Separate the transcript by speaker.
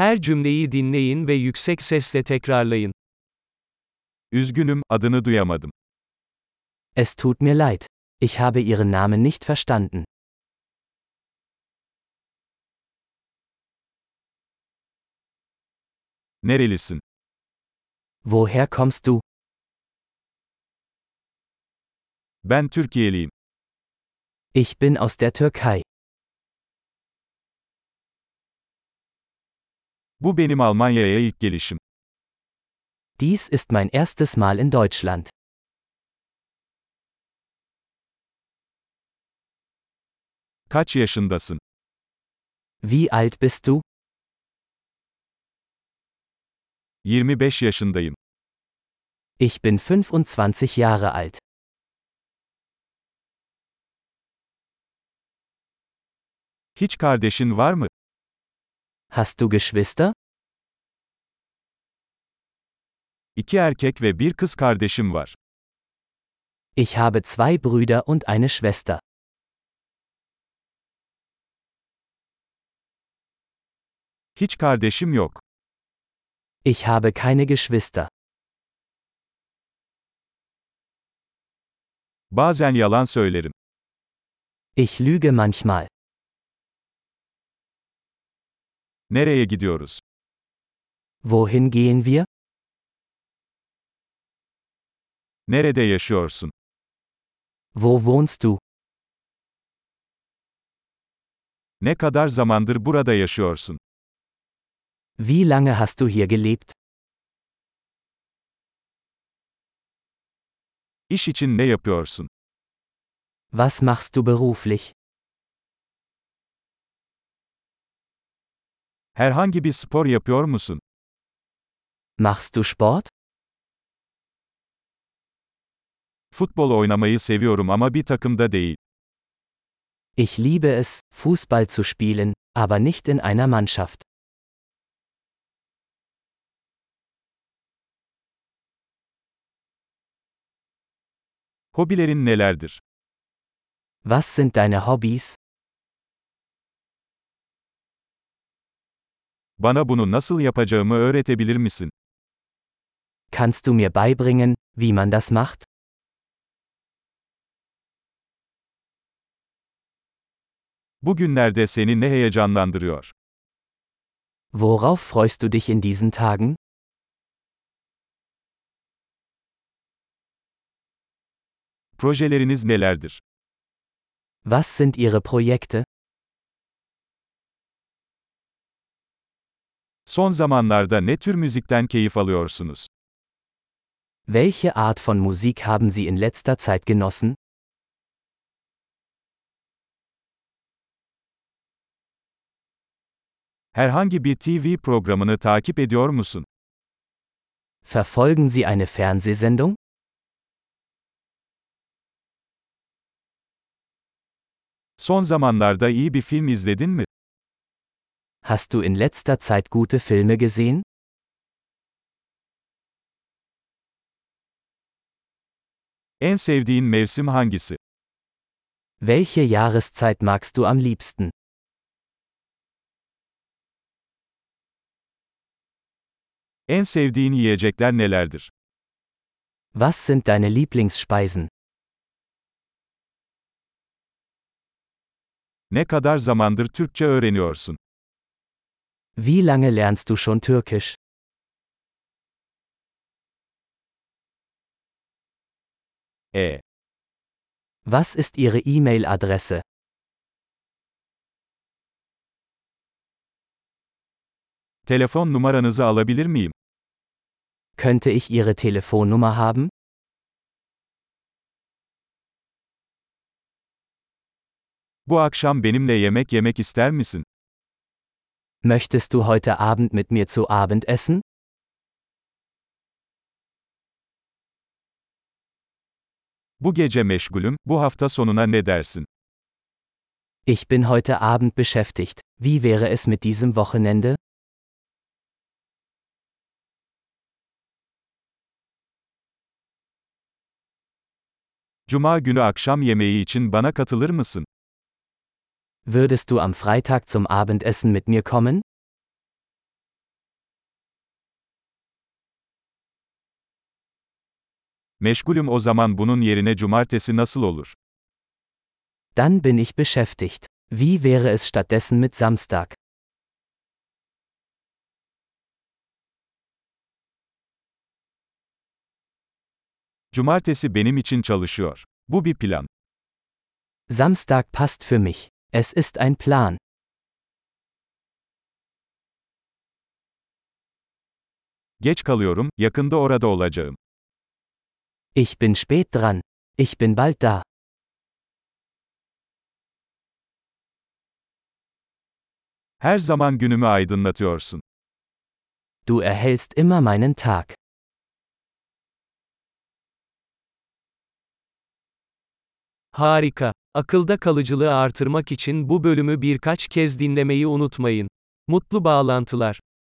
Speaker 1: Her cümleyi dinleyin ve yüksek sesle tekrarlayın.
Speaker 2: Üzgünüm, adını duyamadım.
Speaker 3: Es tut mir leid. Ich habe Ihren Namen nicht verstanden.
Speaker 2: Nerelisin?
Speaker 3: Woher kommst du?
Speaker 2: Ben Türkiye'liyim.
Speaker 3: Ich bin aus der Türkei.
Speaker 2: Bu benim Almanya'ya ilk gelişim.
Speaker 3: Dies ist mein erstes Mal in Deutschland.
Speaker 2: Kaç yaşındasın?
Speaker 3: Wie alt bist du?
Speaker 2: 25 yaşındayım.
Speaker 3: Ich bin 25 Jahre alt.
Speaker 2: Hiç kardeşin var mı?
Speaker 3: Hast du Geschwister?
Speaker 2: 2 erkek ve bir kız kardeşim var.
Speaker 3: Ich habe zwei Brüder und eine Schwester.
Speaker 2: Hiç kardeşim yok.
Speaker 3: Ich habe keine Geschwister.
Speaker 2: Bazen yalan söylerim.
Speaker 3: Ich lüge manchmal.
Speaker 2: Nereye gidiyoruz?
Speaker 3: Wohin gehen wir?
Speaker 2: Nerede yaşıyorsun?
Speaker 3: Wo wohnst du?
Speaker 2: Ne kadar zamandır burada yaşıyorsun?
Speaker 3: Wie lange hast du hier gelebt?
Speaker 2: İş için ne yapıyorsun?
Speaker 3: Was machst du beruflich?
Speaker 2: Herhangi bir spor yapıyor musun?
Speaker 3: Machst du Sport?
Speaker 2: Futbol oynamayı seviyorum ama bir takımda değil.
Speaker 3: Ich liebe es, Fußball zu spielen, aber nicht in einer Mannschaft.
Speaker 2: Hobilerin nelerdir?
Speaker 3: Was sind deine Hobbys?
Speaker 2: Bana bunu nasıl yapacağımı öğretebilir misin?
Speaker 3: Kannst du mir beibringen, wie man das macht?
Speaker 2: Bugünlerde seni ne heyecanlandırıyor?
Speaker 3: Worauf freust du dich in diesen Tagen?
Speaker 2: Projeleriniz nelerdir?
Speaker 3: Was sind Ihre Projekte?
Speaker 2: Son zamanlarda ne tür müzikten keyif alıyorsunuz?
Speaker 3: Welche Art von Musik haben Sie in letzter Zeit genossen?
Speaker 2: Herhangi bir TV programını takip ediyor musun?
Speaker 3: Verfolgen Sie eine Fernsehsendung?
Speaker 2: Son zamanlarda iyi bir film izledin mi?
Speaker 3: Hast du in letzter Zeit gute Filme gesehen?
Speaker 2: En sevdiğin mevsim hangisi?
Speaker 3: Welche Jahreszeit magst du am liebsten?
Speaker 2: En sevdiğin yiyecekler nelerdir?
Speaker 3: Was sind deine Lieblingsspeisen?
Speaker 2: Ne kadar zamandır Türkçe öğreniyorsun?
Speaker 3: Wie lange lernst du schon Türkisch? Was ist Ihre E-Mail-Adresse?
Speaker 2: Telefon numaranızı alabilir miyim?
Speaker 3: Könnte ich Ihre Telefonnummer haben?
Speaker 2: Bu akşam benimle yemek yemek ister misin?
Speaker 3: Möchtest du heute Abend mit mir zu Abend essen?
Speaker 2: Bu gece meşgulüm, bu hafta sonuna ne dersin?
Speaker 3: Ich bin heute Abend beschäftigt. Wie wäre es mit diesem Wochenende?
Speaker 2: Cuma günü akşam yemeği için bana katılır mısın?
Speaker 3: Würdest du am Freitag zum Abendessen mit mir kommen?
Speaker 2: Meşgulüm o zaman bunun yerine cumartesi nasıl olur?
Speaker 3: Dann bin ich beschäftigt. Wie wäre es stattdessen mit Samstag?
Speaker 2: Cumartesi benim için çalışıyor. Bu bir plan.
Speaker 3: Samstag passt für mich. Es ist ein Plan.
Speaker 2: Geç kalıyorum, yakında orada olacağım.
Speaker 3: Ich bin spät dran. Ich bin bald da.
Speaker 2: Her zaman günümü aydınlatıyorsun.
Speaker 3: Du erhellst immer meinen Tag.
Speaker 1: Harika. Akılda kalıcılığı artırmak için bu bölümü birkaç kez dinlemeyi unutmayın. Mutlu bağlantılar.